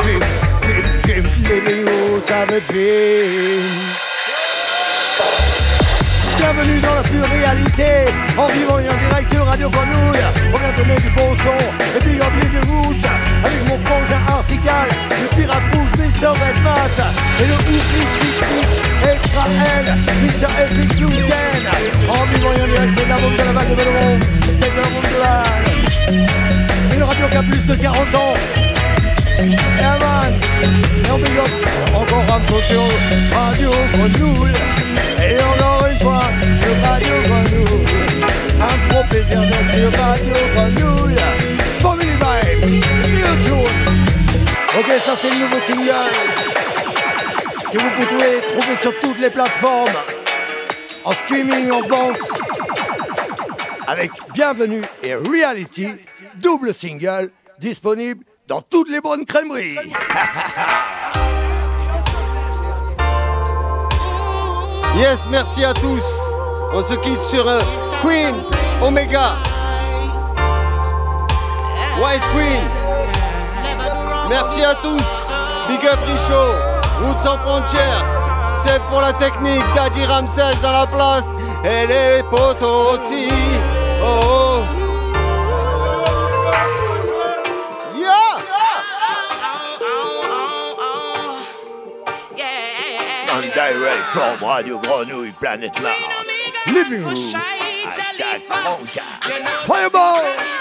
living out of a dream. Bienvenue dans la pure réalité, en vivant et en direct sur Radio Grenouille. On vient donner du bon son et puis on Living Roots avec mon frangin Artigal, le pirate rouge Mr. Redmat et le oufri Extra L, Mr. Epic Bluesden. En vivant et en direct, c'est la bombe de la vague de Belmont, c'est la bombe de la... Une radio qui a plus de 40 ans. Yeah man, et on big up encore Ramso sur Radio Grenouille. Et encore une fois sur Radio Grenouille. Un gros plaisir d'être sur Radio Grenouille. Family Vibes, New Tune. Ok, ça c'est le nouveau single que vous pouvez trouver sur toutes les plateformes, en streaming, en vente, avec Bienvenue et Reality, double single, disponible dans toutes les bonnes crèmeries. Yes, merci à tous. On se quitte sur Queen, Omega, Wise Queen. Merci à tous. Big Up Richaud, Route sans frontières. C'est pour la technique, Daddy Ramsès dans la place. Et les potos aussi. Oh. Direct from Radio Grenouille, Planet Mars. Living Room. Fireball.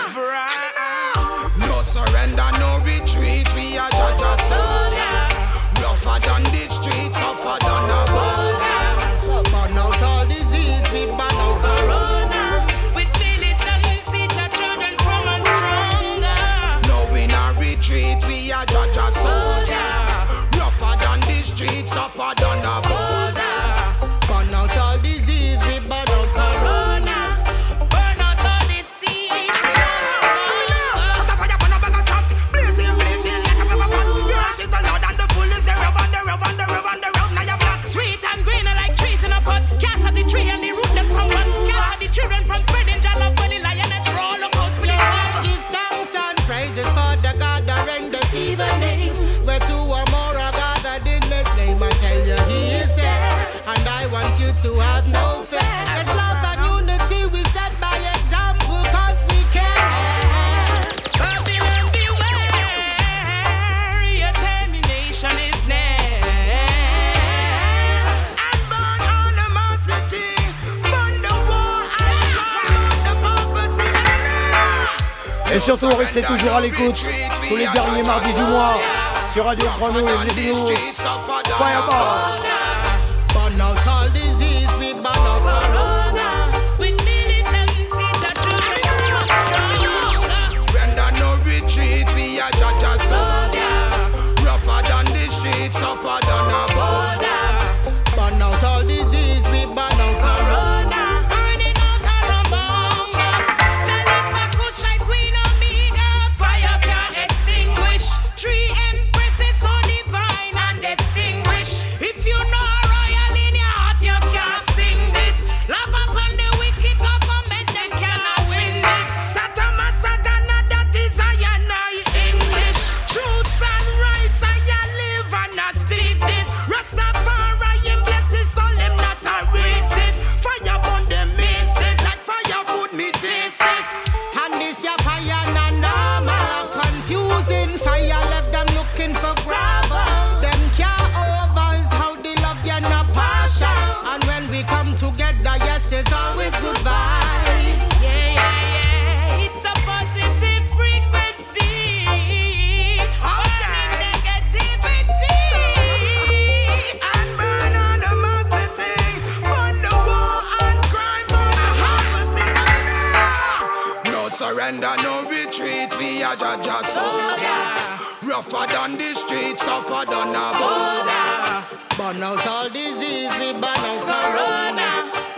No surrender, no retreat. We are Jaja soldier. Rougher than the streets, tougher than a border. Burn out all disease, we burn out corona. With militancy, your children from and stronger. No in a retreat, we are Jaja soldier. Rougher than the streets, tougher than a border. Burn out all disease, we burn out corona. Burn out all disease. Put a fire on a bag of chat. Blazing, blazing like a pepper pot. Your heart is the Lord and the full is the rub and the rub and the rub and the rub. Now you're black. Sweet and green like trees in a pot. Cast at the tree and the root them from one. Cast the children from spreading jala when the lioness roll up out for the sun. Give thanks and praises for the gathering this evening. Where two or more are gathered in His name, I tell you He is there. And I want you to have no fear. As love and unity we set by example, cause we care. Babylon Et surtout, restez toujours à l'écoute tous les derniers mardis du mois sur Radio Grenouille, les news, Fireball. Burn out all disease, we burn out corona. With militancy, just Render no retreat, we are Jaja soldier. Rougher than the streets, tougher than a border. Burn out all disease, we burn out corona. burning out our bongas. Jalifa Kushite, Queen Omega, fire can't extinguish. 3 empresses so divine and distinguished. If you know royal in your heart, you can't sing this. Love upon the wicked government, then cannot win this. Satama Satana, that is I and I English. Truths and rights, I live and I speak this. Rastafari bless his soul, him not a racist. Fire burn them misses, like fire food me taste this. And this your fire na normal, confusing fire left them looking for gravel. Them care over is how they love you not partial. And when we come together, yes, it's always good vibes. Yeah, it's a positive frequency. Burning negativity. And burn animosity, burn the war and crime, burn the harvesting. No surrender, no retreat, we are Jaja soldier. Rougher than the streets, tougher than a border. Burn out all disease, we burn out corona.